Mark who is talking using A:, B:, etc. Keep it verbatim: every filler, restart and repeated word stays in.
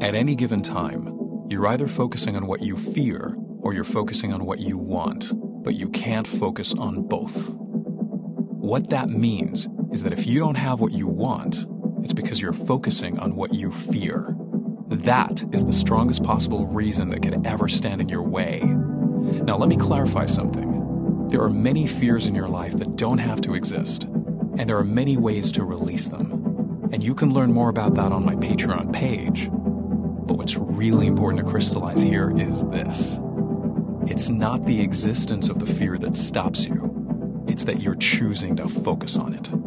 A: At any given time, you're either focusing on what you fear or you're focusing on what you want, but you can't focus on both. What that means is that if you don't have what you want, it's because you're focusing on what you fear. That is the strongest possible reason that could ever stand in your way. Now, let me clarify something. There are many fears in your life that don't have to exist, and there are many ways to release them. And you can learn more about that on my Patreon page. But what's really important to crystallize here is this. It's not the existence of the fear that stops you. It's that you're choosing to focus on it.